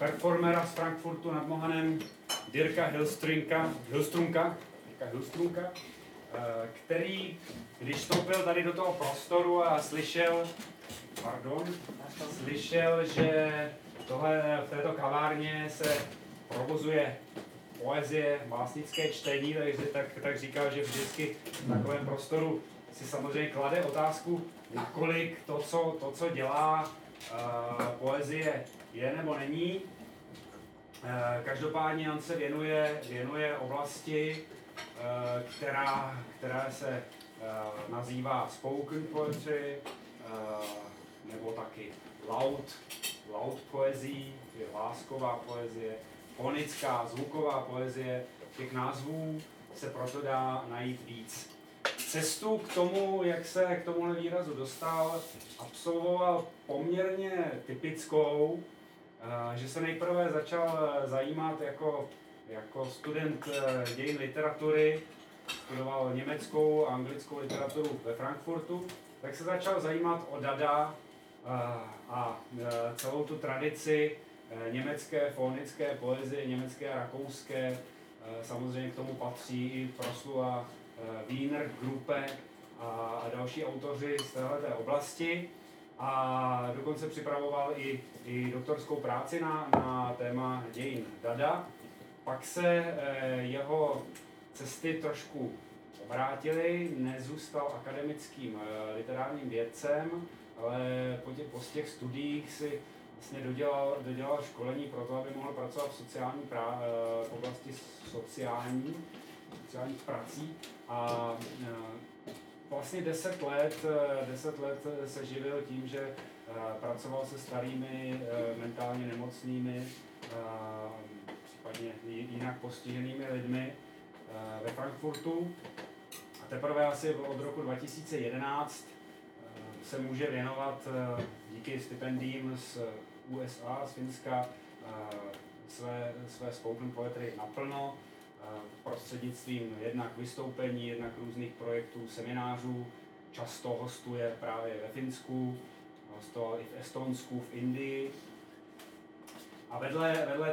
performera z Frankfurtu nad Mohanem, Dirka Hillstrunka, který, když vstoupil tady do toho prostoru a slyšel, že v této kavárně se provozuje poezie, básnické čtení, tak říkal, že vždycky v takovém prostoru si samozřejmě klade otázku, nakolik to, co dělá poezie, je nebo není. Každopádně on se věnuje oblasti, která se nazývá spoken poetry, nebo taky loud poezí, je hlásková poezie, fonická, zvuková poezie. Těch názvů se proto dá najít víc. Cestu k tomu, jak se k tomuhle výrazu dostal, absolvoval poměrně typickou, že se nejprve začal zajímat jako student dějin literatury, studoval německou a anglickou literaturu ve Frankfurtu, tak se začal zajímat o Dada a celou tu tradici německé fonické poezie, německé a rakouské. Samozřejmě k tomu patří i proslula Wiener Gruppe a další autoři z téhleté oblasti. A dokonce připravoval i doktorskou práci na téma dějin Dada. Pak se jeho cesty trošku obrátily, nezůstal akademickým literárním vědcem, ale po těch studiích si vlastně dodělal školení pro to, aby mohl pracovat v oblasti sociálních prací. A vlastně 10 let se živil tím, že pracoval se starými mentálně nemocnými, případně jinak postiženými lidmi ve Frankfurtu. A teprve asi od roku 2011 se může věnovat díky stipendiím z USA, z Finska, své spoken poetry naplno, prostřednictvím jednak vystoupení, jednak různých projektů, seminářů. Často hostuje právě ve Finsku, hostoval i v Estonsku, v Indii. A vedle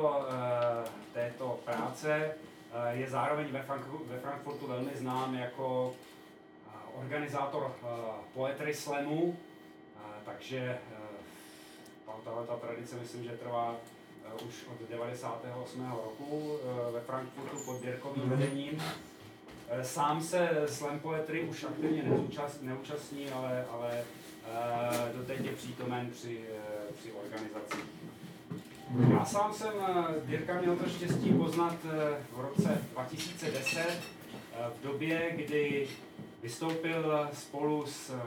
této práce je zároveň ve Frankfurtu velmi znám jako organizátor poetry slamu, takže ta tradice myslím, že trvá už od 98. roku ve Frankfurtu pod Dirkovým vedením. Sám se slam poetry už aktivně neúčastní, ale doteď je přítomen při organizaci. Já sám jsem Dirka měl to štěstí poznat v roce 2010, v době, kdy vystoupil spolu s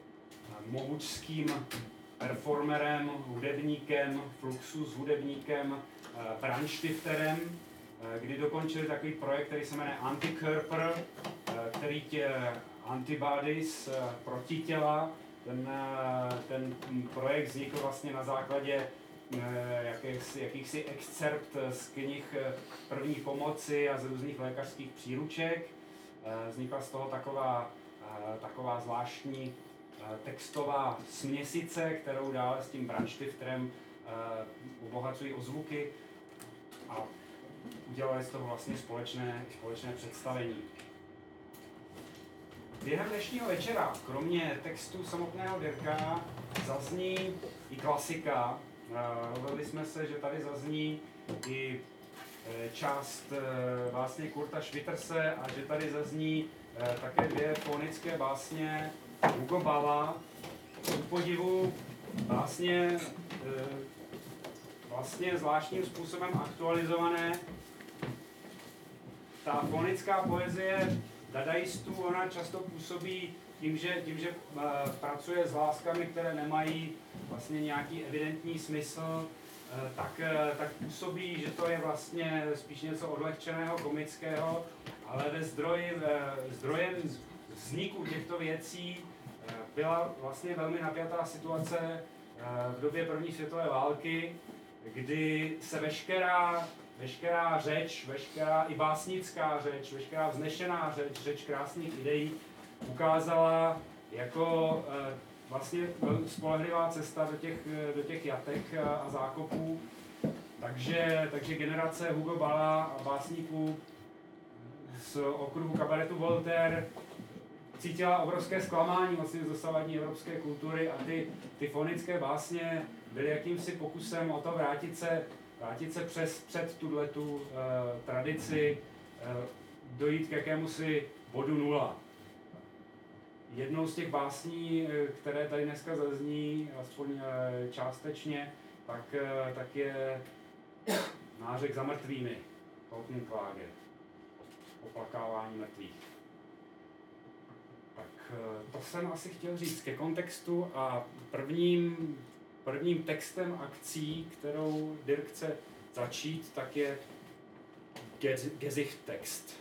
mohučským performerem, hudebníkem, Fluxus hudebníkem, Brandstifterem, kdy dokončili takový projekt, který se jmenuje Antikörper, který antibodies, protitěla. Ten projekt vznikl vlastně na základě jakýchsi excerpt z knih první pomoci a z různých lékařských příruček. Vznikla z toho taková zvláštní textová směsice, kterou dále s tím Brandstifterem obohacují o zvuky a udělali z toho vlastně společné představení. Během dnešního večera, kromě textu samotného Dirka, zazní i klasika. Rozhodli jsme se, že tady zazní i část vlastně Kurta Schwitterse a že tady zazní také 2 fonické básně Hugo Balla. Ku podivu vlastně zvláštním způsobem aktualizované. Ta fonická poezie dadaistů, ona často působí tím, že pracuje s hláskami, které nemají vlastně nějaký evidentní smysl, tak působí, že to je vlastně spíš něco odlehčeného, komického, ale zdrojem vzniku těchto věcí byla vlastně velmi napjatá situace v době první světové války, kdy se veškerá řeč, veškerá i básnická řeč, veškerá vznešená řeč krásných ideí ukázala jako vlastně spolehlivá cesta do těch jatek a zákopů. Takže generace Hugo Balla a básníků z okruhu kabaretu Voltaire cítila obrovské zklamání vlastně z dosavadní evropské kultury a ty fonické básně byly jakýmsi pokusem o to vrátit se před tuhletu tradici, dojít k jakémusi bodu nula. Jednou z těch básní, které tady dneska zazní, aspoň částečně, tak je Nářek za mrtvými, Totenklage, oplakávání mrtvých. Tak to jsem asi chtěl říct ke kontextu a prvním textem akcí, kterou Dirk chce začít, tak je Gesichttext.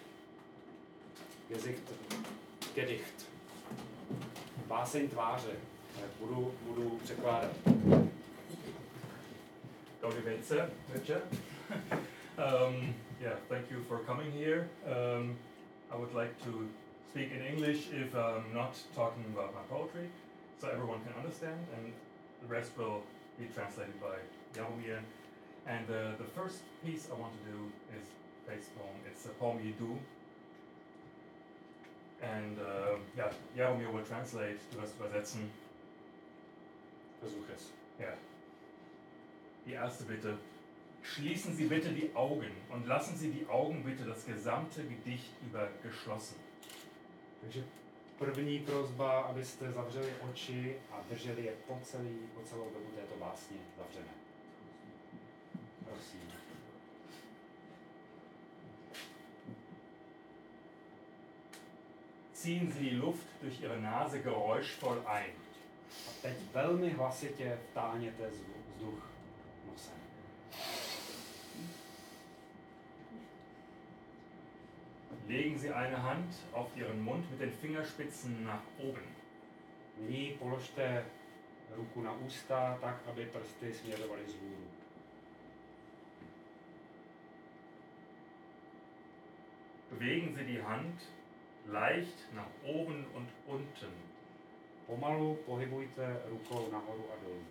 Gedicht. Báseň tváře. Budu překládat. Dobrý večer. Thank you for coming here. I would like to speak in English if I'm not talking about my poetry, so everyone can understand, and the rest will be translated by Jaromir. And the first piece I want to do is Faith's poem. It's a poem you do. And Jaromir will translate, du wirst übersetzen. Versuch es. Ja. Die erste Bitte. Schließen Sie bitte die Augen und lassen Sie die Augen bitte das gesamte Gedicht über geschlossen. Takže první prosba, abyste zavřeli oči a drželi je po celou dobu této básně zavřené. Prosím. Ziehen Sie die Luft durch Ihre Nase geräuschvoll ein. A teď velmi hlasitě vtáhněte vzduch nosem. Legen Sie eine Hand auf Ihren Mund mit den Fingerspitzen nach oben. Nyní položte ruku na ústa tak, aby prsty směřovaly vzhůru. Bewegen Sie die Hand leicht nach oben und unten. Pomalu pohybujte rukou nahoru a dolů.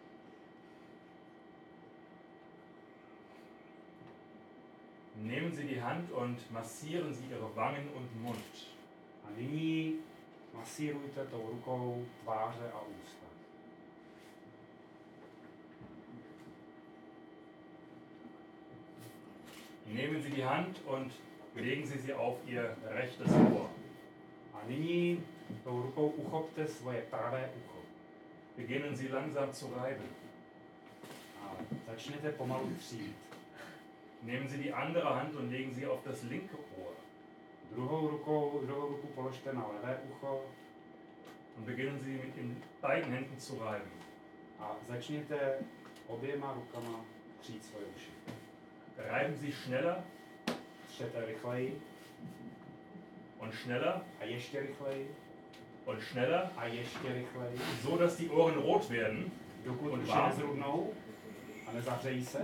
Nehmen Sie die Hand und massieren Sie Ihre Wangen und Mund. A nyní masírujte tou rukou tváře a ústa. Nehmen Sie die Hand und legen Sie sie auf Ihr rechtes Ohr. A nyní tou rukou uchopte svoje pravé ucho. Beginnen Sie langsam zu reiben. A začněte pomalu třít. Nehmen Sie die andere Hand und legen sie auf das linke Ohr. Druhou ruku položte na levé ucho. Und beginnen Sie mit den beiden Händen zu reiben. A začněte oběma rukama třít svoje uši. Reiben Sie schneller. Třete rychleji. Und schneller. A ještě rychleji. Und schneller. A ještě rychleji. So, dass die Ohren rot werden. Dokud und uši nezrudnou a nezahřejí se.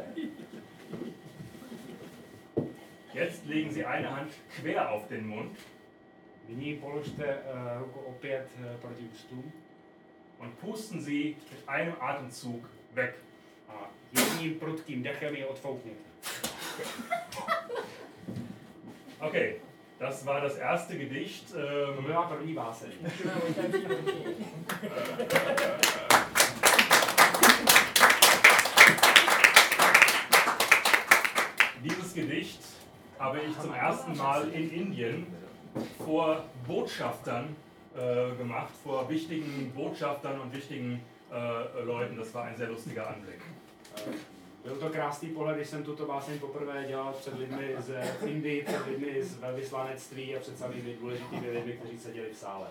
Jetzt legen Sie eine Hand quer auf den Mund. Nyní položte ruku opět proti ústům. Und pusten Sie mit einem Atemzug weg. A jedním prudkým dechem je odfoukněte. Okay, das war das erste Gedicht. To byla první báseň. Dieses Gedicht habe ich zum ersten Mal in Indien vor Botschaftern gemacht, vor wichtigen Botschaftern und wichtigen Leuten. Das war ein sehr lustiger Anblick. Byl to krásný pohled, když jsem tuto báseň poprvé dělal před lidmi z Indie, před lidmi z velvyslanectví a před samými důležitými lidmi, kteří seděli v sále.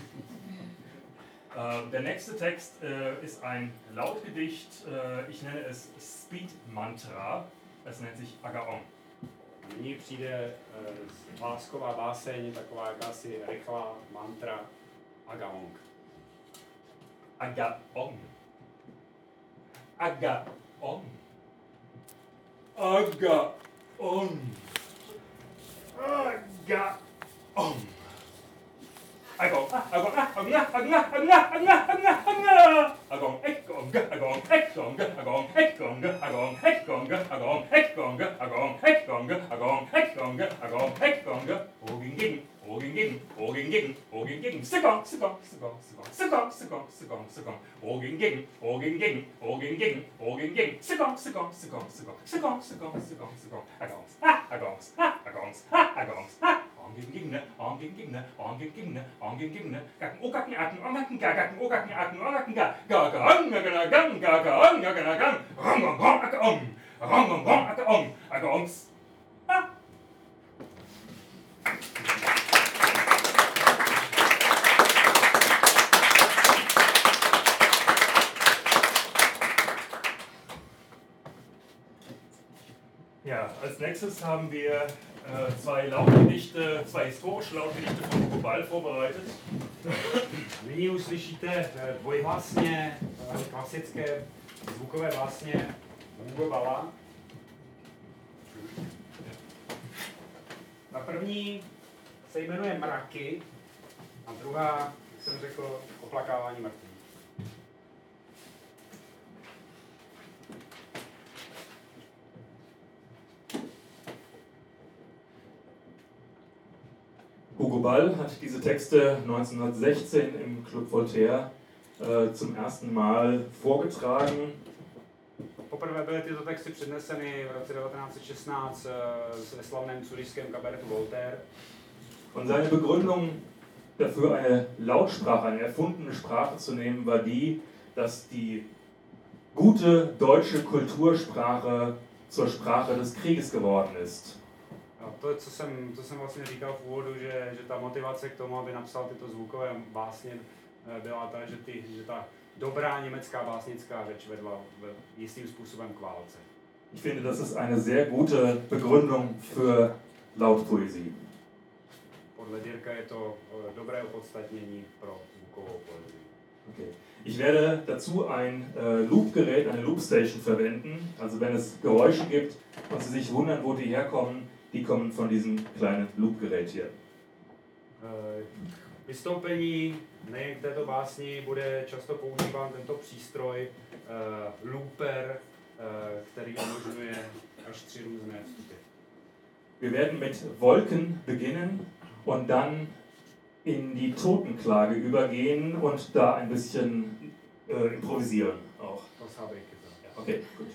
Der nächste Text ist ein Lautgedicht. Ich nenne es Speed Mantra. Es nennt sich Agaon. Nyní přijde hlásková báseň, taková jakási rychlá mantra Agaong. Agaon. Agaon. Agaon. Agaon. agong, ekgonga, agong, ekgonga, agong, ekgonga, agong, ekgonga, agong, ekgonga, agong, ekgonga, agong, ekgonga, agong, ekgonga, oging ging, oging ging, oging ging, oging ging, sigong, sigong, sigong, sigong, sigong, sigong, sigong, sigong, oging ging, oging ging, oging ging, oging ging, sigong, sigong, sigong, sigong, sigong, sigong, sigong, sigong, agongs, ha, agongs, ha, agongs, ha, agongs, ha. Onging gacken okacken acken ongacken gacken okacken acken ongacken gacken gang gacken rong acker acker agongs. Ja, als nächstes haben wir zwei Lautgedichte, zwei historische Lautgedichte von Hugo Ball vorbereitet. Nyní uslyšíte dvojhlasně klasické zvukové básně Hugo Balla. Ta první se jmenuje Mraky a druhá, jak jsem řekl, Oplakávání mrtvých. Hugo Ball hat diese Texte 1916 im Club Voltaire zum ersten Mal vorgetragen. Poprvé byly tyto texty předneseny v roce 1916 ve slavném zurichském kabaretu Voltaire. Und seine Begründung dafür, eine Lautsprache, eine erfundene Sprache zu nehmen, war die, dass die gute deutsche Kultursprache zur Sprache des Krieges geworden ist. A to, co jsem vlastně říkal v úvodu, že ta motivace k tomu, aby napsal tyto zvukové básně, byla ta, že ta dobrá německá básnická řeč vedla jistým způsobem k válce. Ich finde, das ist eine sehr gute Begründung für Lautpoesie. Podle Dirka je to dobré opodstatnění pro zvukovou poezii. Okay. Ich werde dazu ein Loopgerät, eine Loopstation verwenden. Also wenn es Geräusche gibt und Sie sich wundern, wo die herkommen, die kommen von diesem kleinen Loopgerät hier. Vystoupení nejen k této básni bude často používán tento přístroj looper, který umožňuje až 3 různé vstupy. Wir werden mit Wolken beginnen und dann in die Totenklage übergehen und da ein bisschen improvisieren auch. Das habe ich gesagt. Ja. Okay, gut.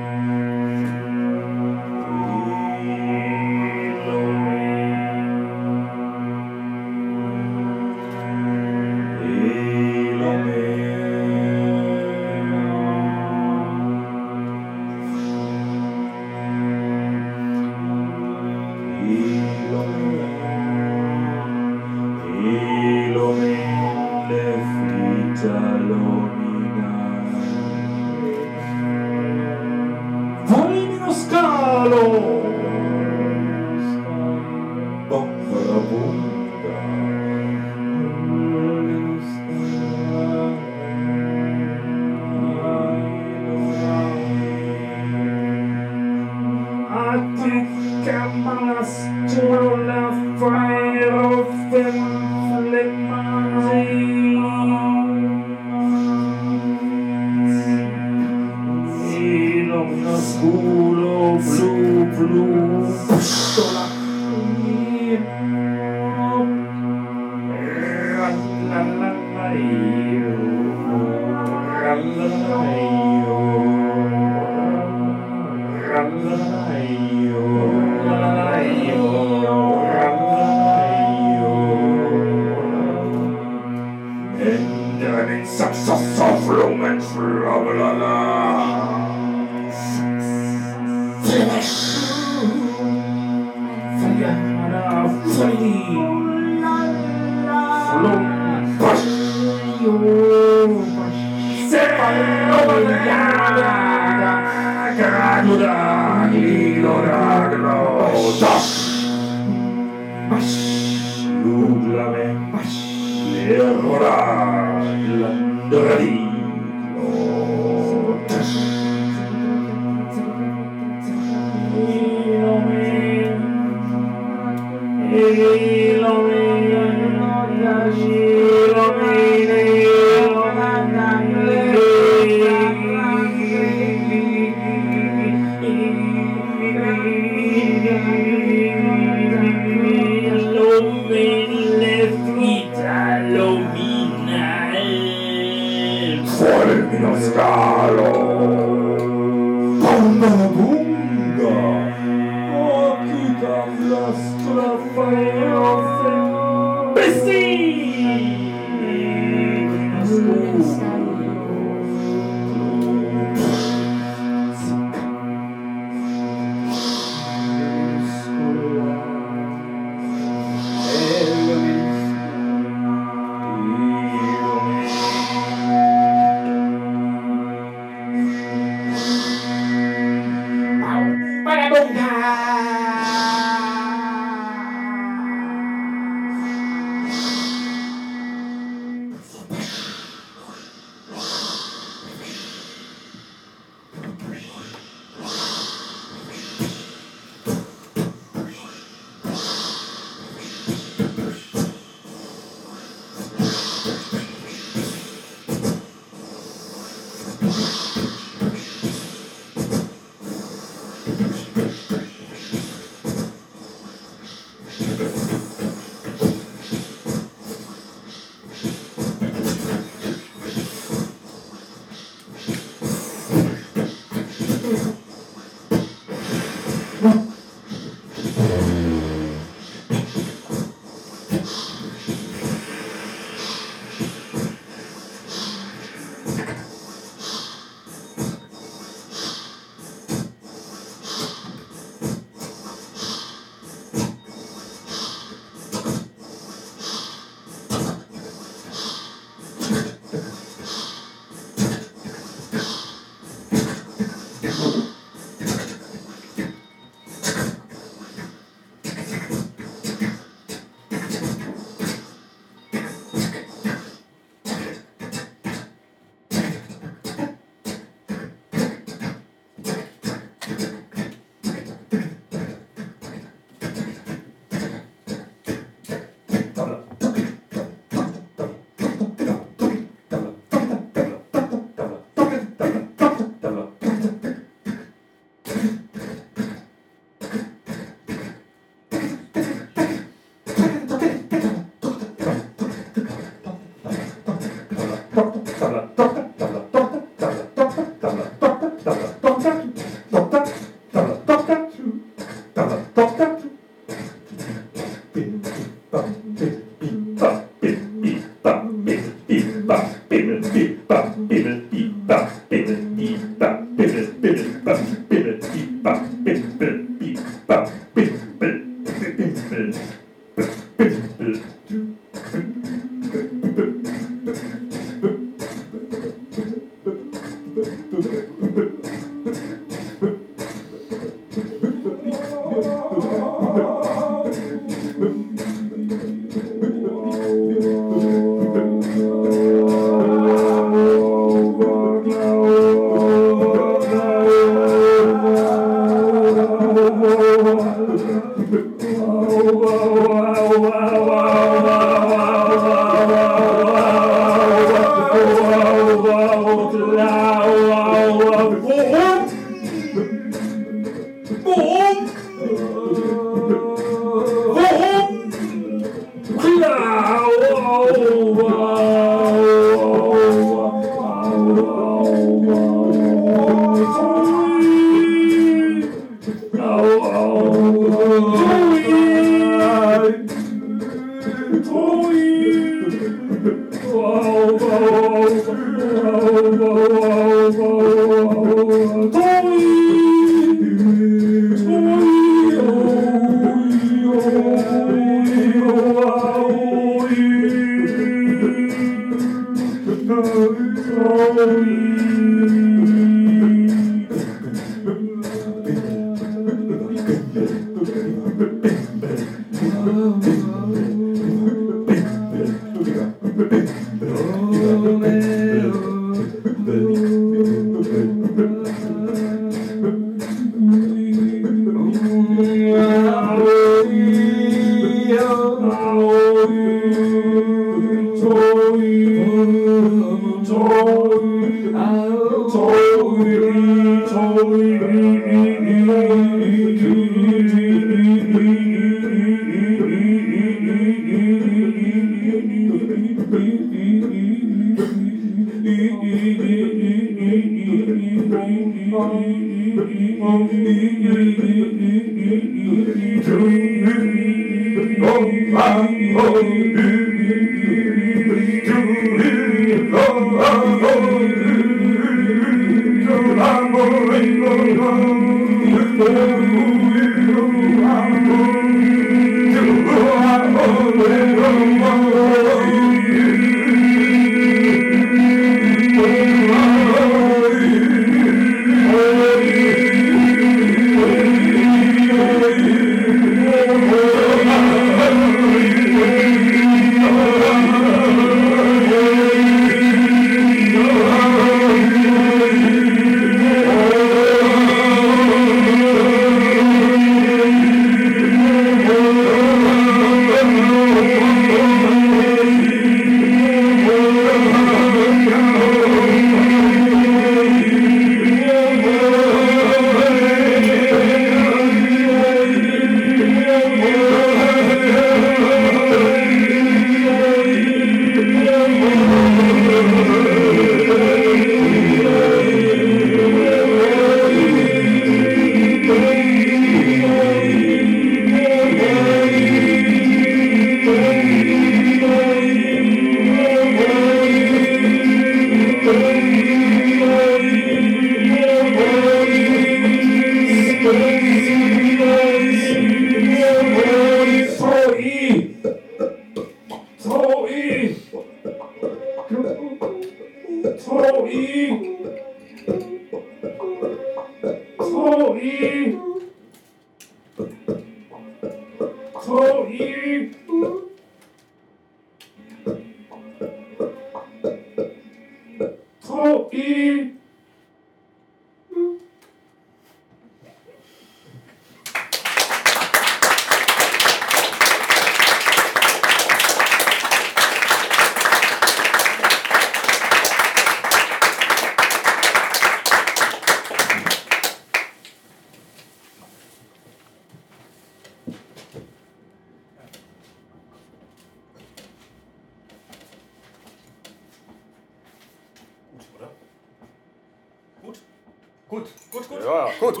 Ja, gut.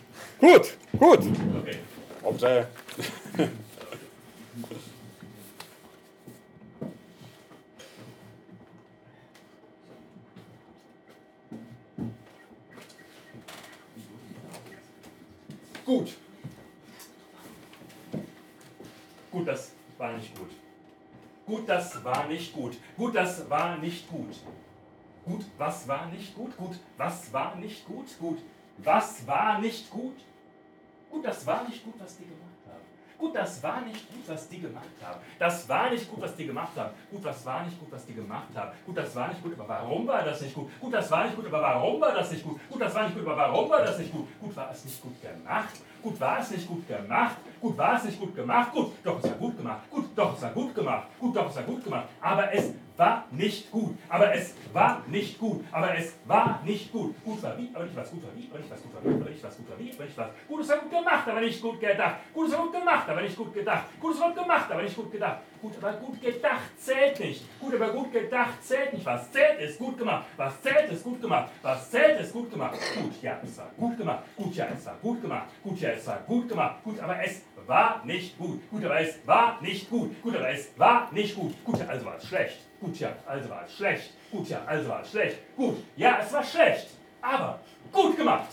Gut. Okay. Dobrze. Gut. Gut, das war nicht gut. Gut, das war nicht gut. Gut, das war nicht gut. Gut, was war nicht gut? Gut, was war nicht gut? Gut, was war nicht gut? Gut, das war nicht gut, was die gemacht haben. Gut, das war nicht gut, was die gemacht haben. Das war nicht gut, was die gemacht haben. Gut, das war nicht gut, was die gemacht haben. Gut, das war nicht gut, aber warum war das nicht gut? Gut, das war nicht gut, aber warum war das nicht gut? Gut, das war nicht gut, aber warum war das nicht gut? Gut, war es nicht gut gemacht? Gut, war es nicht gut gemacht? Gut, war es nicht gut gemacht? Gut, doch, es war gut gemacht. Gut, doch, es war gut gemacht. Gut, doch, es war gut gemacht. Aber es war nicht gut. Aber es war nicht gut. Aber es war nicht gut. Gut war wie, aber nicht was gut war wie, aber nicht was gut war wie, aber nicht was gut war wie, aber nicht was. Gut, es war gut gemacht, aber nicht gut gedacht. Gut, es war gut gemacht, aber nicht gut gedacht. Gut, es war gut gemacht, aber nicht gut gedacht. Gut, aber gut gedacht zählt nicht. Gut, aber gut gedacht zählt nicht. Was zählt, ist gut gemacht. Was zählt, ist gut gemacht. Was zählt, ist gut gemacht. Gut, ja, es war gut gemacht. Gut, ja, es war gut gemacht. Gut, ja, es war gut gemacht. Gut, aber es war nicht gut. Gut, aber es war nicht gut. Gut, aber es war nicht gut. Gut, ja, also war es schlecht. Gut, ja, also war es schlecht. Gut, ja, also war es schlecht. Gut, ja, es war schlecht. Aber gut gemacht.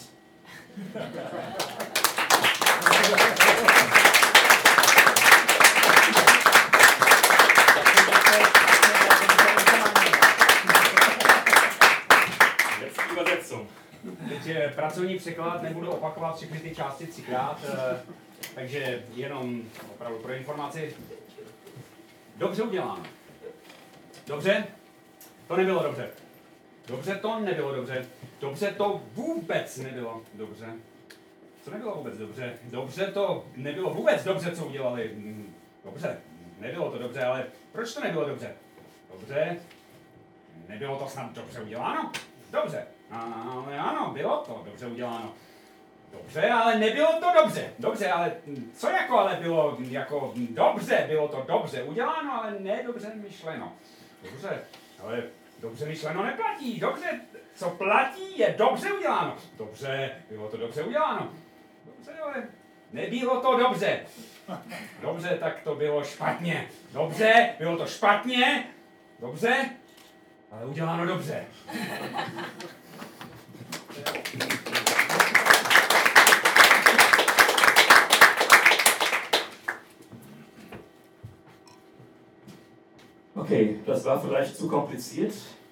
Jetzt die Übersetzung. Teď pracovní překlad, nebudu opakovat všechny ty části třikrát, takže jenom opravdu pro informaci. Dobře uděláno. Dobře? To nebylo dobře. Dobře to nebylo dobře. Dobře to vůbec nebylo dobře. Co nebylo vůbec dobře? Dobře to nebylo vůbec dobře, co udělali. Dobře, nebylo to dobře, ale proč to nebylo dobře? Dobře, nebylo to snad dobře uděláno? Dobře, Ale ano, bylo to dobře uděláno. Dobře, ale nebylo to dobře. Dobře, ale co jako ale bylo jako dobře, bylo to dobře uděláno, ale ne dobře myšleno. Dobře, ale dobře myšleno neplatí. Dobře, co platí, je dobře uděláno. Dobře, bylo to dobře uděláno. Dobře, ale nebylo to dobře. Dobře, tak to bylo špatně. Dobře, bylo to špatně. Dobře, ale uděláno dobře. Okay, das war vielleicht zu kompliziert.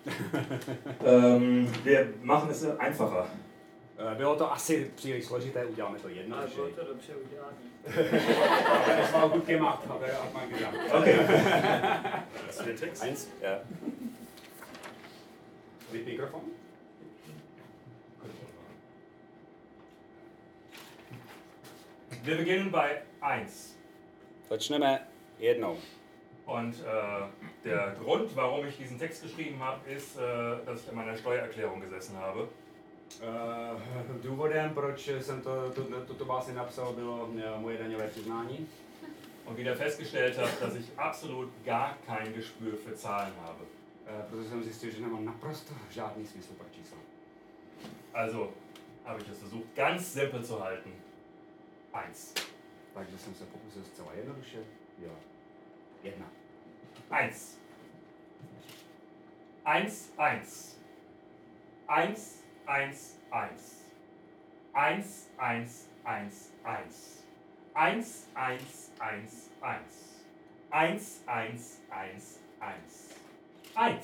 Wir machen es einfacher. Bylo to asi příliš složité, uděláme to Ale jednoduše. bylo to dobře udělané. Das war gut gemacht, hat man gesagt. Okay. Das ist der Text. Eins. Ja. Mit Mikrofon? Wir beginnen bei 1. Začneme jednou. Und der Grund, warum ich diesen Text geschrieben habe, ist, dass ich an meiner Steuererklärung gesessen habe. Důvodem, proč jsem tuto básni napsal, bylo moje daňové přiznání. Und wieder festgestellt habe, dass ich absolut gar kein Gespür für Zahlen habe. Protože jsem zjistil, že nemám naprosto žádný smysl pro čísla. Also habe ich es versucht, ganz simpel zu halten. 1. Takže jsem se pokusil zcela jednoduše dělat 1. 1. 1, 1. 1, 1, 1. 1, 1, 1, 1. 1, 1, 1, 1. 1, 1, 1, 1. 1.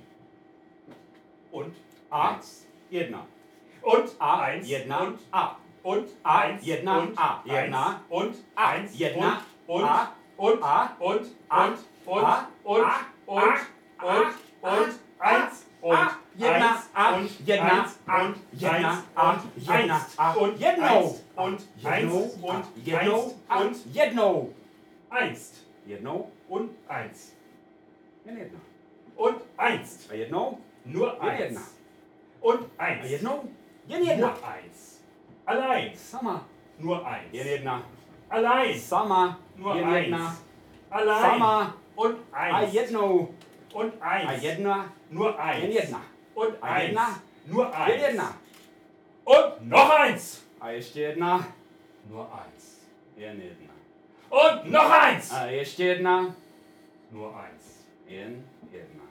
Und A 1. 1. Und A 1. 1 Und A. und A 1 1 und A 1 1 und A 1 1 und A und A und A und und A und A und und A und 1 und 1 A und 1 1 A und 1 1 A und 1 A und 1 und 1 jednou und jednou 1 a und jednou 1 jednou und 1 jen 1 und 1 a jednou nur jen 1 1 und a 1 jednou jen nur 1 1 allein sama nur 1 jen 1 allein sama nur jen 1 1 allein sama und a 1 jednou und a 1 1 nur jen 1 1 und a 1 jedna nur jen 1 1 und noch 1 a ještě 1 nur 1 jen 1 und noch 1 a ještě 1 nur 1 jen 1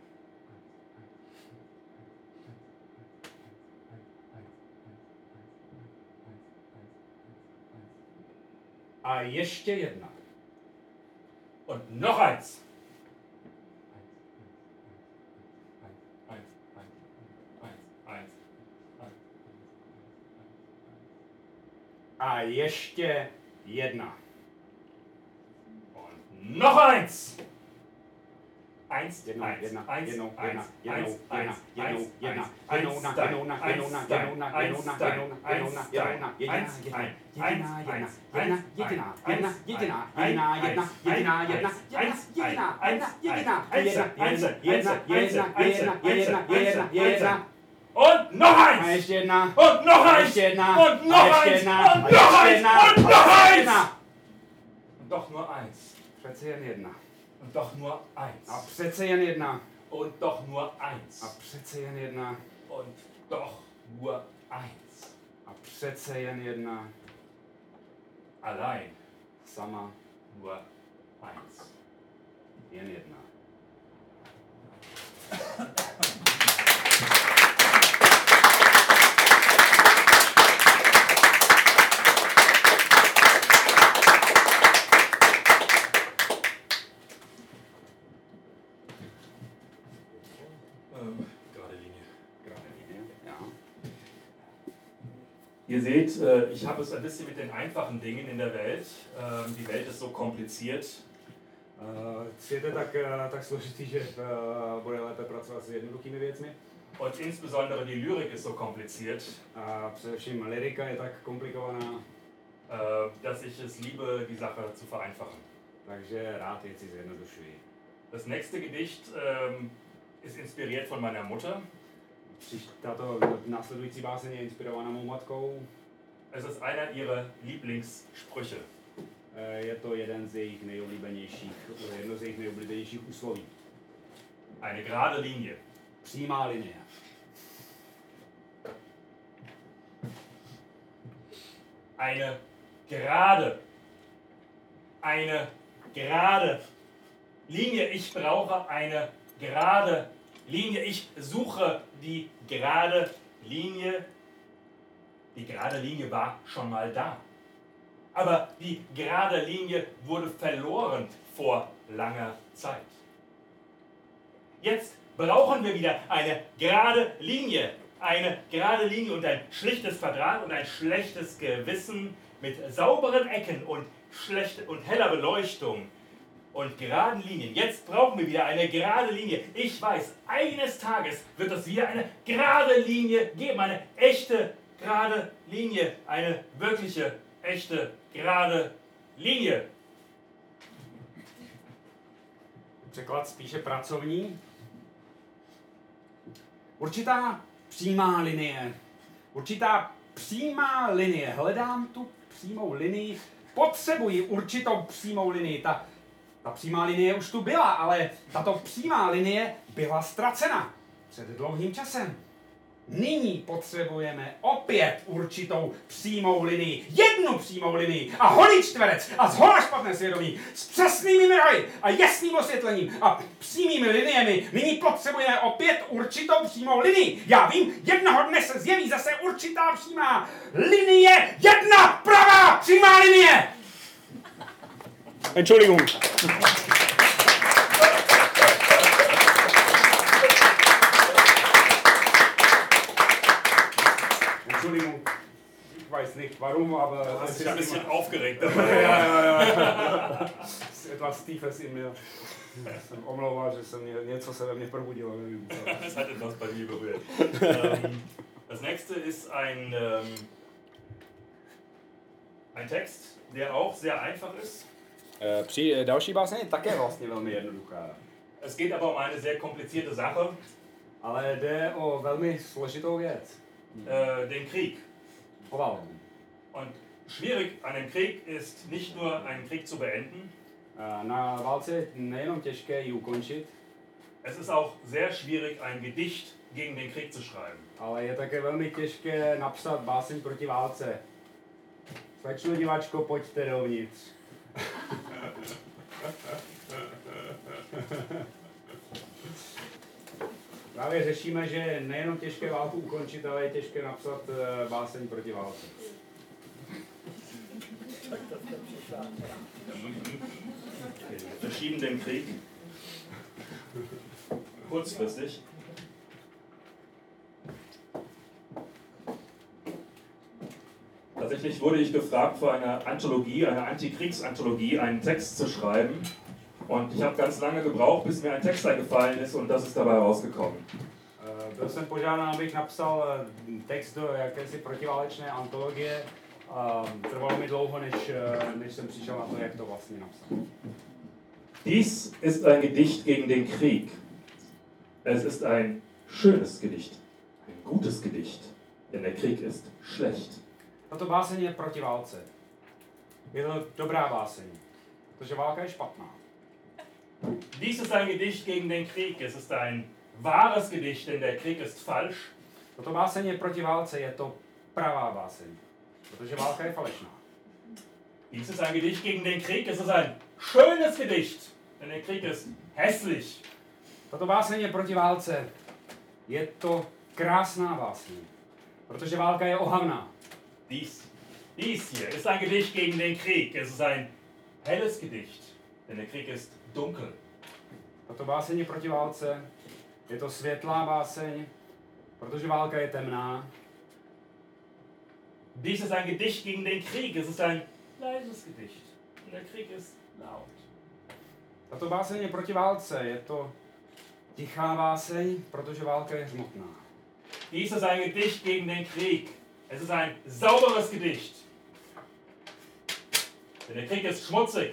a ještě 1 und noch 1 a ještě 1 und noch 1 1 jednou, 1 jedna, 1 jednou, 1 jedna, 1 jednou, 1 jedna, 1 jednou, jedna, 1 jednou, na, jednou, na, jednou, na, jednou, na, jednou, na, jednou, na, jednou, na, jednou, na, jednou, na, und noch a 1 ještě 1 und noch a 1 ještě 1 und noch 1 und noch 1 und noch 1 und doch nur 1 přece jen 1 und doch nur 1 a přece jen 1 und doch nur 1 a přece jen 1 und doch nur 1 a přece jen 1 allein sama nur 1 jen 1 Gerade Linie. Gerade Linie, ja. Ihr seht, ich habe es ein bisschen mit den einfachen Dingen in der Welt. Die Welt ist so kompliziert. Svět je tak složitý, že bude lépe pracovat s jednoduchými věcmi. Und insbesondere die Lyrik ist so kompliziert, A především lyrika je tak komplikovaná, dass ich es liebe, die Sache zu vereinfachen. takže rád věci zjednodušuji. Das nächste Gedicht ist inspiriert von meiner Mutter. Tato následující báseň je inspirovaná mou matkou. Es ist einer ihrer Lieblingssprüche. Je to jedno z jejich nejoblíbenějších úsloví. Eine gerade Linie. Přímá linie. Eine gerade Linie. Ich brauche eine gerade Linie. Ich suche die gerade Linie. Die gerade Linie war schon mal da. Aber die gerade Linie wurde verloren vor langer Zeit. Jetzt brauchen wir wieder eine gerade Linie. Eine gerade Linie und ein schlichtes Quadrat und ein schlechtes Gewissen mit sauberen Ecken und heller Beleuchtung und geraden Linien. Jetzt brauchen wir wieder eine gerade Linie. Ich weiß, eines Tages wird es wieder eine gerade Linie geben. Eine echte gerade Linie. Eine wirkliche, echte gerade Linie. Překlad spíše pracovní. Určitá přímá linie. Hledám tu přímou linii. Potřebuji určitou přímou linii. Ta přímá linie už tu byla, ale tato přímá linie byla ztracena před dlouhým časem. Nyní potřebujeme opět určitou přímou linii. Jednu přímou linii a holý čtverec a zhola špatné svědomí s přesnými mrahy a jasným osvětlením a přímými liniemi. Nyní potřebujeme opět určitou přímou linii. Já vím, jednoho dne se zjeví zase určitá přímá linie. Jedna pravá přímá linie. Entschuldigung. Entschuldigung, ich weiß nicht warum, aber... Du hast dich ein bisschen aufgeregt dabei. Ja. Das ist etwas Tiefes in mir. Jsem omlouval, že něco se ve mně probudilo. Das hat etwas bei mir berührt. Das nächste ist ein Text, der auch sehr einfach ist. Další báseň je také vlastně velmi jednoduchá. Es geht aber um eine sehr komplizierte Sache. Ale jde o velmi složitou věc. Den Krieg. O válku. Und schwierig an dem Krieg ist nicht nur einen Krieg zu beenden. Na válce je nejenom těžké ji ukončit, Es ist auch sehr schwierig, ein Gedicht gegen den Krieg zu schreiben. ale je také velmi těžké napsat báseň proti válce. Slečno diváčko, pojďte dovnitř. Právě řešíme, že je nejenom těžké válku ukončit, ale je těžké napsat báseň proti válce. Wir verschieben den Krieg. Kurzfristig. Tatsächlich wurde ich gefragt, für eine Anthologie, eine Antikriegsanthologie, einen Text zu schreiben. Und ich habe ganz lange gebraucht, bis mir ein Text eingefallen ist und das ist dabei rausgekommen. Byl jsem požádán, abych napsal text do jakési protiválečné antologie. Trvalo mi dlouho, než jsem přišel na to, jak to vlastně napsat. Dies ist ein Gedicht gegen den Krieg. Es ist ein schönes Gedicht, ein gutes Gedicht, denn der Krieg ist schlecht. Tato báseň je proti válce. Je to dobrá báseň, protože válka je špatná. Dies ist ein Gedicht gegen den Krieg. Es ist ein wahres Gedicht, denn der Krieg ist falsch. Tato báseň je proti válce, je to pravá báseň, protože válka je falešná. Dies ist ein Gedicht gegen den Krieg. Es ist ein schönes Gedicht, denn der Krieg ist hässlich. Tato báseň je proti válce, je to krásná báseň, protože válka je ohavná. Dies hier ist ein Gedicht gegen den Krieg. Es ist ein helles Gedicht, denn der Krieg ist dunkel. Tato báseň je proti válce, je to světlá báseň, protože válka je temná. Dies ist ein Gedicht gegen den Krieg. Es ist ein leises Gedicht, denn der Krieg ist laut. Tato báseň je proti válce, je to tichá báseň, protože válka je hřmotná. Dies ist ein Gedicht gegen den Krieg. Es ist ein sauberes Gedicht, denn der Krieg ist schmutzig.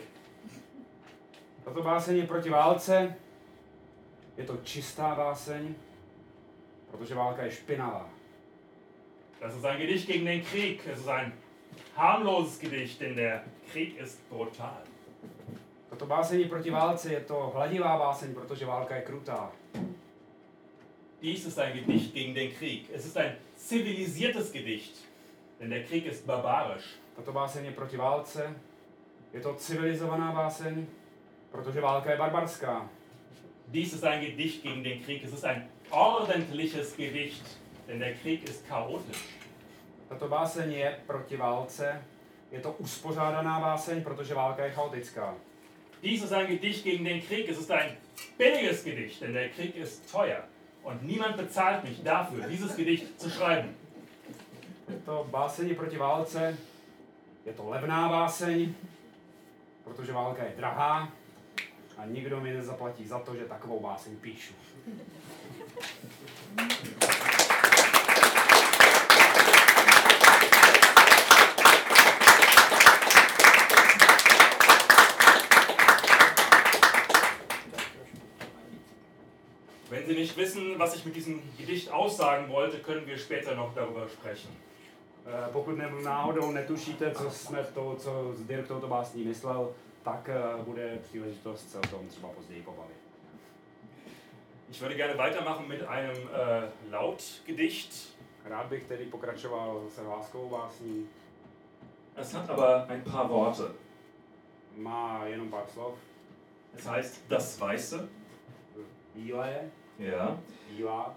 Tato báseň je proti válce, je to čistá báseň, Protože válka je špinavá. Das ist ein Gedicht gegen den Krieg. Es ist ein harmloses Gedicht, denn der Krieg ist brutal. Toto báseň je proti válce, je to hladivá báseň, protože válka je krutá. Dies ist ein Gedicht gegen den Krieg. Es ist ein zivilisiertes Gedicht, denn der Krieg ist barbarisch. Tato báseň je proti válce, je to civilizovaná báseň, protože válka je barbarská. Dies ist ein Gedicht gegen den Krieg. Es ist ein ordentliches Gedicht, denn der Krieg ist chaotisch. Tato báseň je proti válce, je to uspořádaná báseň, protože válka je chaotická. Dies ist ein Gedicht gegen den Krieg. Es ist ein billiges Gedicht, denn der Krieg ist teuer. Und niemand bezahlt mich dafür, dieses Gedicht zu schreiben. Je to báseň proti válce, je to levná báseň, protože válka je drahá a nikdo mi nezaplatí za to, že takovou báseň píšu. Wenn Sie nicht wissen, was ich mit diesem Gedicht aussagen wollte, können wir später noch darüber sprechen. Pokud náhodou netušíte, co Dirk touto básní myslel, tak bude příležitost se o tom třeba později pobavit. Ich würde gerne weitermachen mit einem Lautgedicht. Rád bych tedy pokračoval se hláskovou básní. Es hat aber ein paar Worte. Má jenom pár slov. Es heißt Das Weiße. Bílé, Ja. bílá.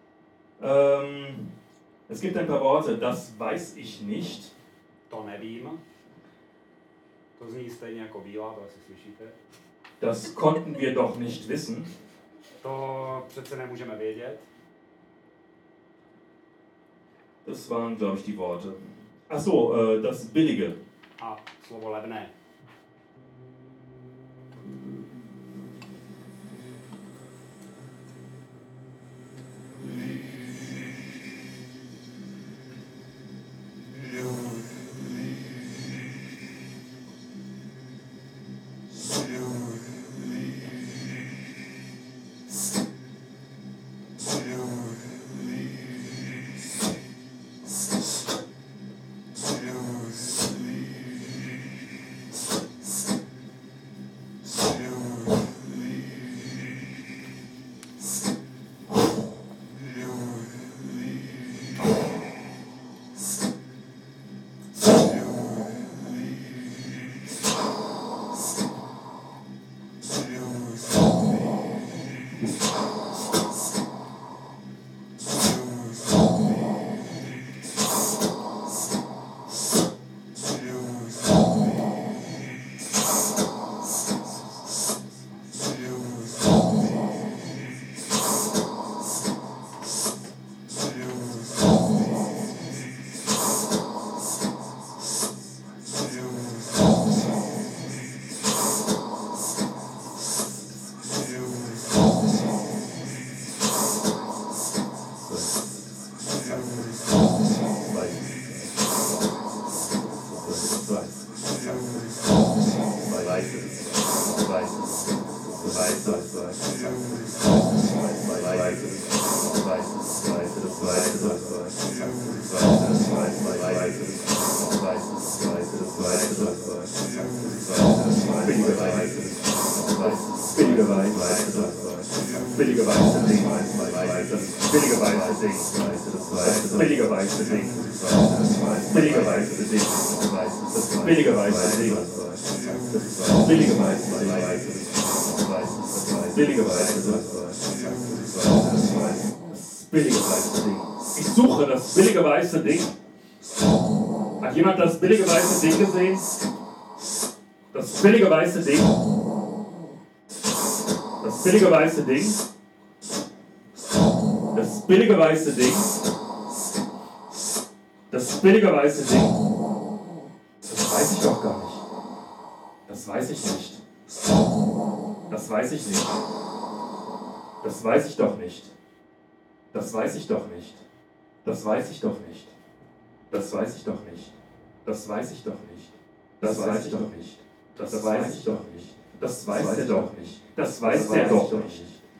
Es gibt ein paar Worte. Das weiß ich nicht. To nevím. To zní stejně jako bílá, to asi slyšíte. Das konnten wir doch nicht wissen. To přece nemůžeme vědět. Das waren, glaube ich, die Worte. Ach so, das Billige. A slovo levné. Ich suche das billige weiße Ding. Hat jemand das billige weiße Ding gesehen? Das billige weiße Ding. Das billige weiße Ding. Das billige weiße Ding. Das billige weiße Ding. Das weiß ich doch gar nicht. Das weiß ich nicht. Das weiß ich nicht. Das weiß ich doch nicht. Das weiß ich doch nicht. Das weiß ich doch nicht. Das weiß ich doch nicht. Das weiß ich doch nicht. Das weiß ich doch nicht. Das weiß ich doch nicht. Das weiß er doch nicht. Das weiß er doch nicht.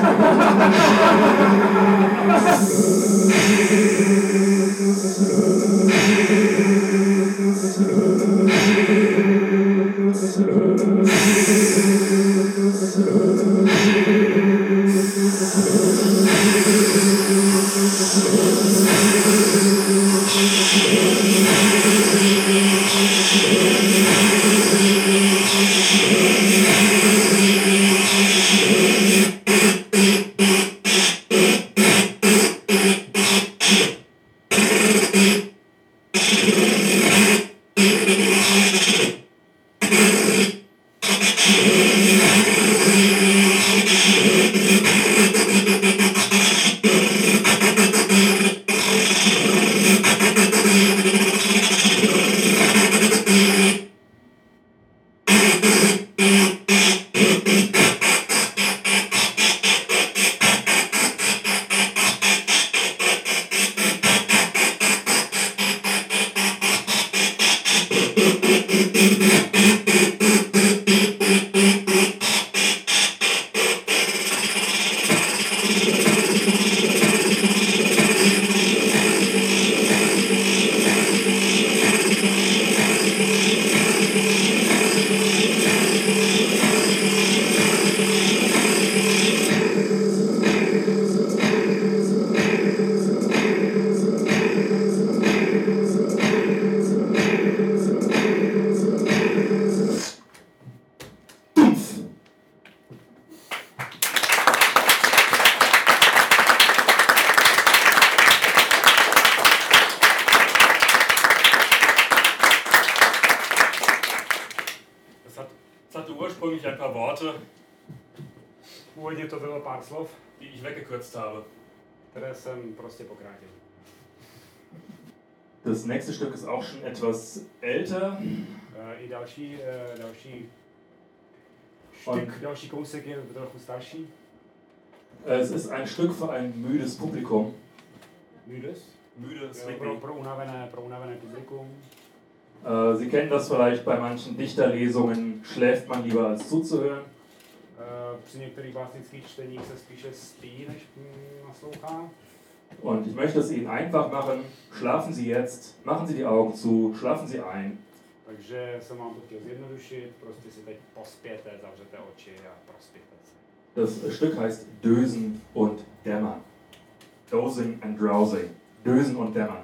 Es hatte ursprünglich ein paar Worte, Původně to bylo pár slov, die ich weggekürzt habe. které jsem prostě pokrátil. Das nächste Stück ist auch schon etwas älter. I další kousek je trochu starší. Es ist ein Stück für ein müdes Publikum. Müde, sleepy. Pro unavené publikum. Sie kennen das vielleicht bei manchen Dichterlesungen, schläft man lieber als zuzuhören. Při některých básnických čteních se spíše spí, než naslouchá. Und ich möchte es Ihnen einfach machen. Schlafen Sie jetzt, machen Sie die Augen zu, schlafen Sie ein. Takže jsem vám to chtěl zjednodušit, prostě si teď pospěte, zavřete oči a prospěte se. Das Stück heißt Dösen und Dämmern. Dozing and drowsing. Dösen und Dämmern.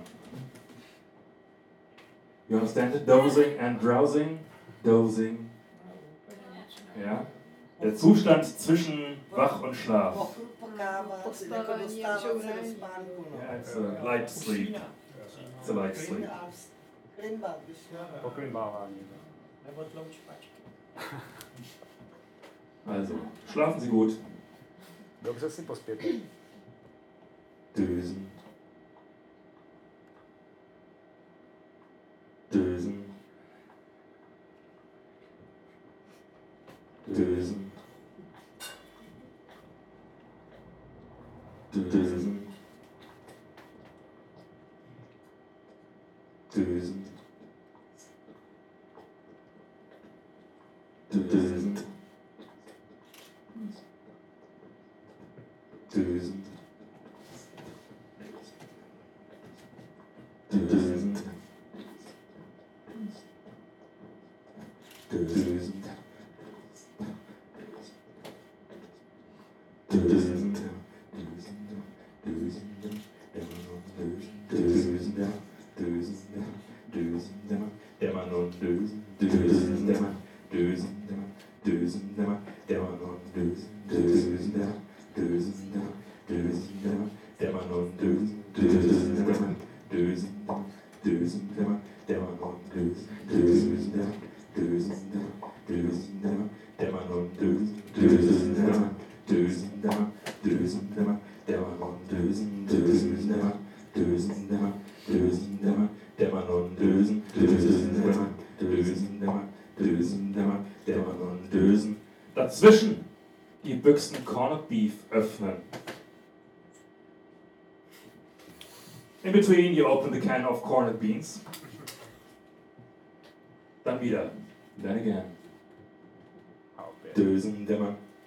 You understand it? Dozing and drowsing. Dozing. Ja? Der Zustand zwischen Wach und Schlaf. Pospávání a žourání. Yeah, it's a light sleep. It's a light sleep. Poklimbávání. Nebo tloučpačky. Also, schlafen Sie gut. Dobře si pospěte. Dösen. Dösen. Dösen. Dösen. Dösen. Dösen. Dösen. Dösen. Dösen. Dösen. Dazwischen die Büchsen Corned Beef öffnen. In between you open the can of corned beans. Dann wieder. Then again. Dösen, dämmern,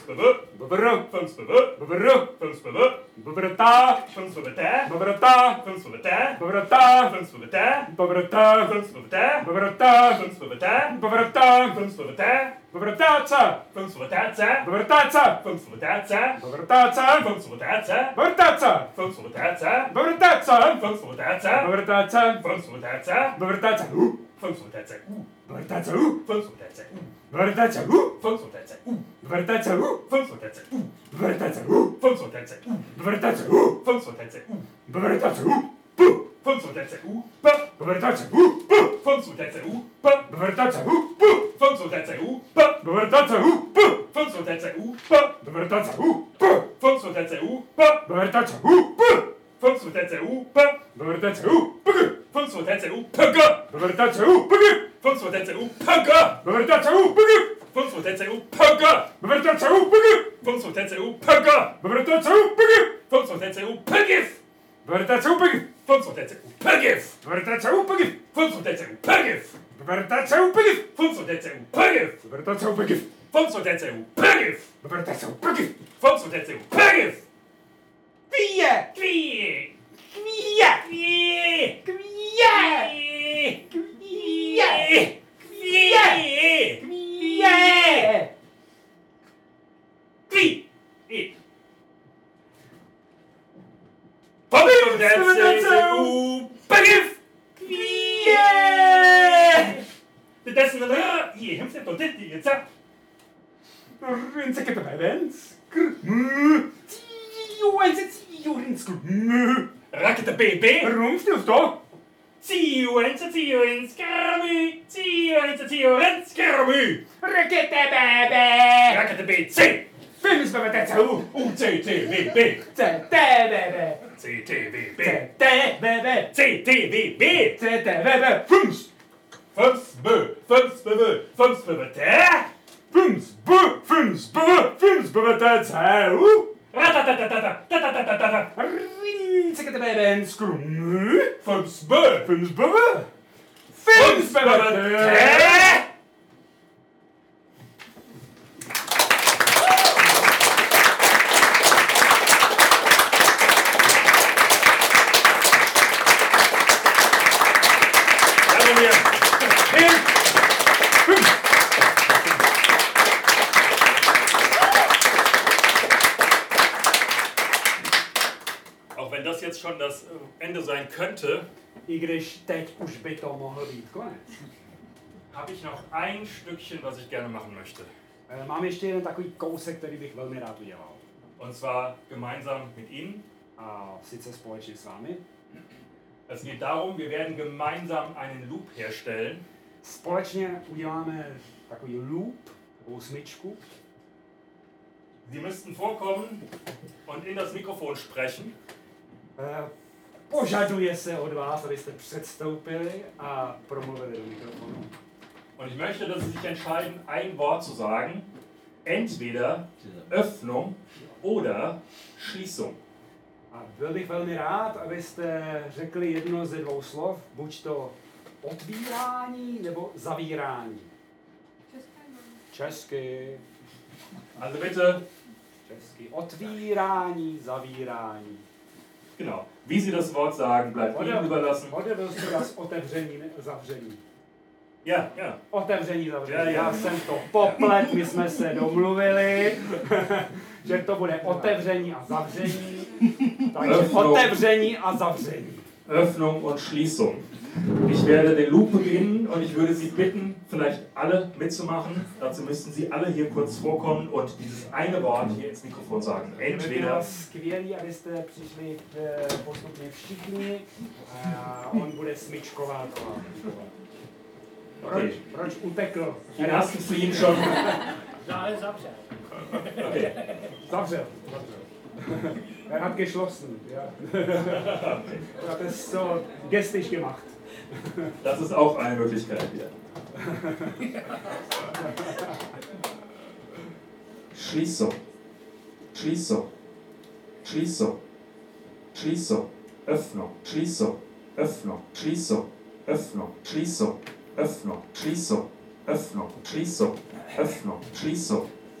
Bobr, bobr, bobrta, bobrta, bobrta, bobrta, bobrta, bobrtaca, bobrtaca, bobrtaca, bobrtaca, bobrtaca, bobrtaca, bobrtaca, bobrtaca, bobrtaca, bobrtaca, Rakete BB. Rumstilf då? Rakete bebe! Rakete BC. Films bebe! UTTVB. Bebe! CTVB. Bebe! CTVB. Bebe! Films! Films bebe! Ratatatatata. Rinsekete bebe! Skrum! Films bebe! Films bebe! Auch wenn das jetzt schon das Ende sein könnte, I když teď už by to mohl být konec. habe ich noch ein Stückchen, was ich gerne machen möchte. Mám ještě jeden takový kousek, který bych velmi rád udělal. Und zwar gemeinsam mit Ihnen. A sice společně s vámi. Es geht darum, wir werden gemeinsam einen Loop herstellen. Společně uděláme takový loop, takovou smyčku. Sie müssten vorkommen und in das Mikrofon sprechen. Požaduje se od vás, abyste předstoupili a promluvili do mikrofonu. Und ich möchte, dass Sie sich entscheiden, ein Wort zu sagen. Entweder Öffnung oder Schließung. A byl bych velmi rád, abyste řekli jedno ze dvou slov, buď to otvírání nebo zavírání. Česky. Also bitte, Česky. Otvírání, zavírání. genau, wie Sie das Wort sagen, bleibt Ihnen überlassen. Odevil jste das otevření, zavření. Ja, ja. Otevření, zavření. Ja, ja. Já jsem to poplet, my jsme se domluvili, že to bude otevření a zavření. Takže otevření a zavření. Öffnung und Schließung. Ich werde den Loop beginnen und ich würde Sie bitten, vielleicht alle mitzumachen. Dazu müssten Sie alle hier kurz vorkommen und dieses eine Wort hier ins Mikrofon sagen. By bylo Entweder skvělý, abyste přišli postupně všichni a on bude smyčkovat. Proč utekl? die ersten fliehen schon. Ale zavřel. Okay. Zavřel. Er hat geschlossen. Ja. Er hat es so gestisch gemacht. Das ist auch eine Möglichkeit hier. Schließung. Schließung. Schließung. Schließung. Öffnung. Schließung. Öffnung. Schließung. Öffnung. Schließung. Öffnung. Schließung. Öffnung. Schließung. Öffnung. Schließung.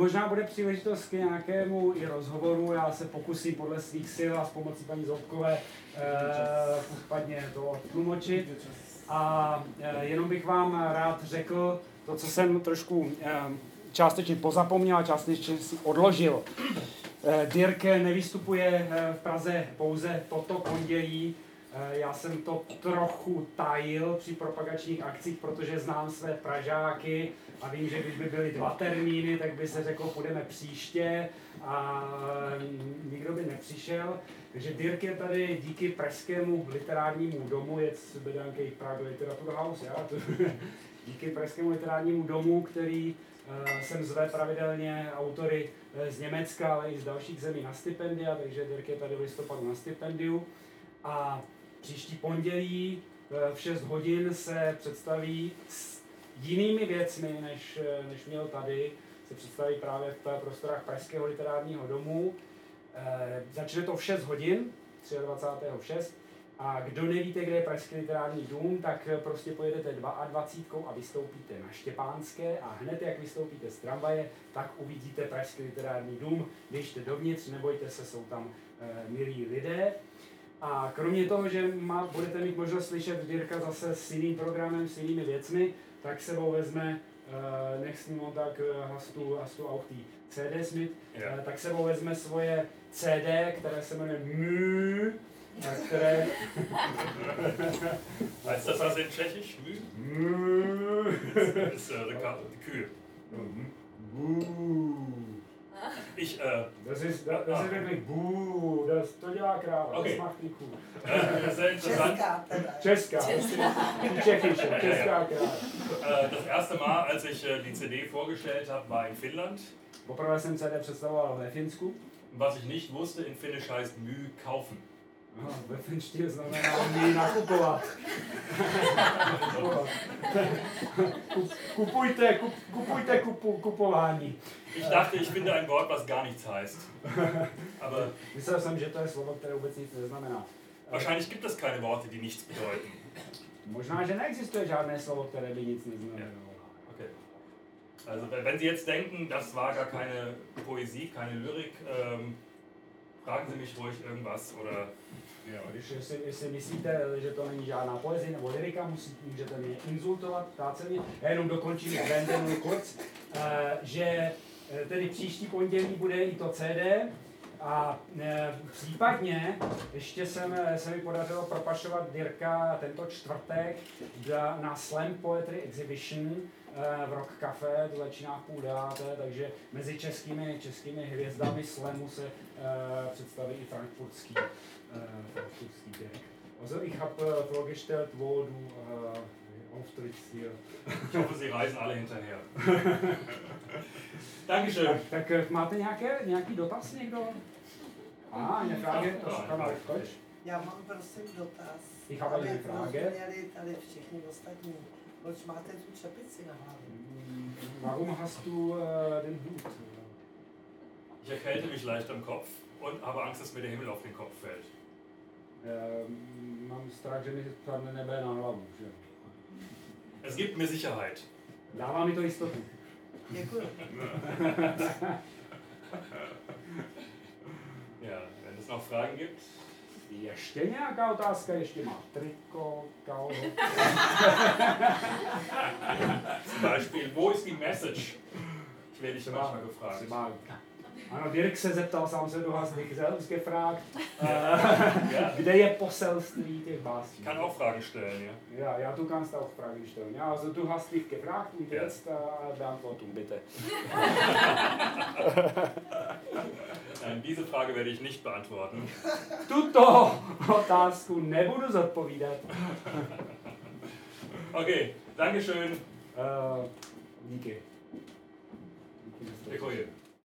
možná bude příležitost k nějakému i rozhovoru, já se pokusím podle svých sil a s pomocí paní Zoubkové případně to tlumočit. A jenom bych vám rád řekl to, co jsem trošku částečně pozapomněl a částečně si odložil. Dirk nevystupuje v Praze pouze toto pondělí. Já jsem to trochu tajil při propagačních akcích, protože znám své Pražáky a vím, že když by byly 2 termíny, tak by se řeklo, půjdeme příště a nikdo by nepřišel. Takže Dirk je tady díky Pražskému literárnímu domu, je z Bedankej Prague Literaturhaus, díky Pražskému literárnímu domu, který sem zve pravidelně autory z Německa, ale i z dalších zemí na stipendia, takže Dirk je tady v listopadu na stipendiu. A příští pondělí v 6 hodin se představí s jinými věcmi, než měl tady. Se představí právě v prostorách Pražského literárního domu. Začne to v 6 hodin, 23.6. A kdo nevíte, kde je Pražský literární dům, tak prostě pojedete 22 a vystoupíte na Štěpánské a hned jak vystoupíte z tramvaje, tak uvidíte Pražský literární dům. Běžte dovnitř, nebojte se, jsou tam milí lidé. A kromě toho, že budete mít možnost slyšet Dirka zase s jiným programem, s jinými věcmi, tak sebou vezme Next Montag hast du auch die CDs mit, tak sebou vezme svoje CD, které se jmenuje Mü, které... Heißt das was in Tschechisch? Mü. Das ist die Kühe. Das ist wirklich Buh, to dělá kráva, okay. Das macht die Kuh. Sehr interessant. Česká, Tschechische, česká kráva. Das erste Mal, als ich die CD vorgestellt habe, war in Finnland. Poprvé jsem CD představoval ve Finsku. Was ich nicht wusste, in Finnisch heißt Mü kaufen. Aha, ve finštině znamená mý nakupovat. Kupování. Ich dachte, ich finde ein Wort, was gar nichts heißt. Aber myslel jsem, že to je slovo, které vůbec nic neznamená. Wahrscheinlich gibt es keine Worte, die nichts bedeuten. Možná, že neexistuje žádné slovo, které by nic neznamenalo. Okay. Also wenn Sie jetzt denken, das war gar keine Poesie, keine Lyrik, fragen Sie mich ruhig irgendwas oder... Když si myslíte, že to není žádná poezie nebo lyrika, můžete mě insultovat, ptát se mě. Já jenom dokončím Brandonu kurz, že tedy příští pondělí bude i to CD a případně ještě se mi podařilo propašovat Dirka tento čtvrtek na Slam Poetry Exhibition v Rock Café, to začíná v 8:30, takže mezi českými hvězdami slamu se představí i frankfurtský Dirk. Also ich habe vorgestellt, wo du auftrittst hier. Ich hoffe, Sie reisen alle hinterher. Dankeschön. Tak máte nějaký dotaz někdo? Eine Frage, das kann man auf Deutsch. Já mám prosím dotaz, Ich habe eine Frage. rozuměli tady všichni ostatní. Proč máte tu čepici na hlavě? Warum hast du den Hut? Ich erkälte mich leicht am Kopf und habe Angst, dass mir der Himmel auf den Kopf fällt. Mám strach, že mi spadne nebe na hlavu. Že? Es gibt mir Sicherheit. Dává mi to jistotu. Děkuji. Ja, wenn es noch Fragen gibt. Ještě nějaká otázka? Ještě má triko, kalho. Zum Beispiel, wo ist die Message? Ich werde dich manchmal gefragt. Ano, Dirk se zeptal, sám se du hast dich selbst gefragt, kde je poselství těch básní. Ich kann auch Fragen stellen, ja? Ja, du kannst auch Fragen stellen. Ja, also du hast dich gefragt und jetzt Beantwortung bitte. Nein, diese Frage werde ich nicht beantworten. Tuto otázku nebudu zodpovídat. Okay, Dankeschön. Díky. Děkuji.